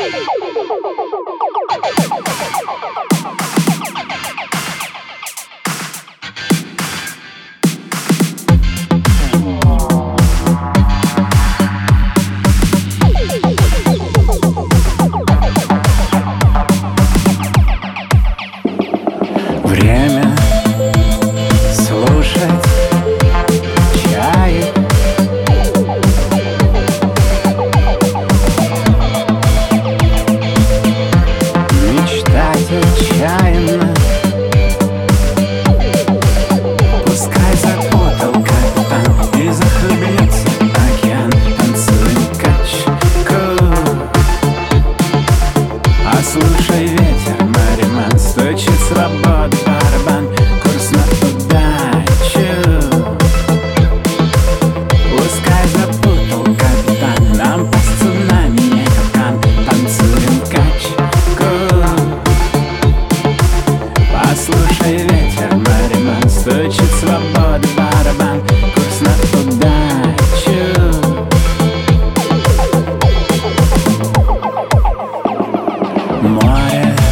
Время слушать чаек, мечтать отчаянно. Пускай запутал капитан и захлебнется океан. Танцуем качку, а слушай ветер, мариман, стучит свобода барабан, курс на удачу. Пускай запутал капитан, нам по цунами не капкан. Танцуем качку, послушай ветер, мариман, стучит свобода барабан, курс на удачу. Море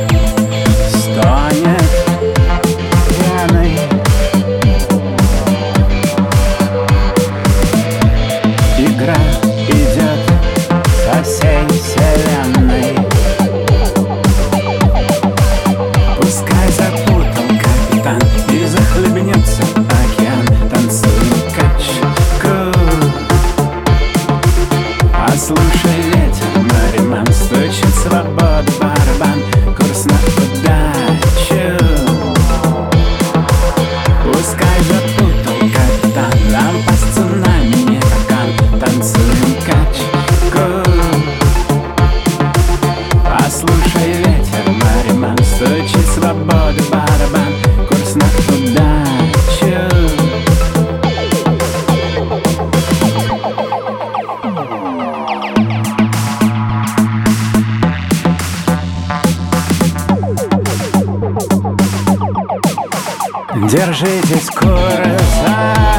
стонет пьяной, игра идет со всей вселенной. Пускай запутал капитан и захлебнется океан. Танцуем качку, послушай ветер, мариман, стучит свобода барабан, курс на удачу. Пускай запутал капитан, нам по цунами не капкан. Танцуем качку, послушай ветер, мариман, стучит свобода барабан, курс на удачу. Держитесь, курса.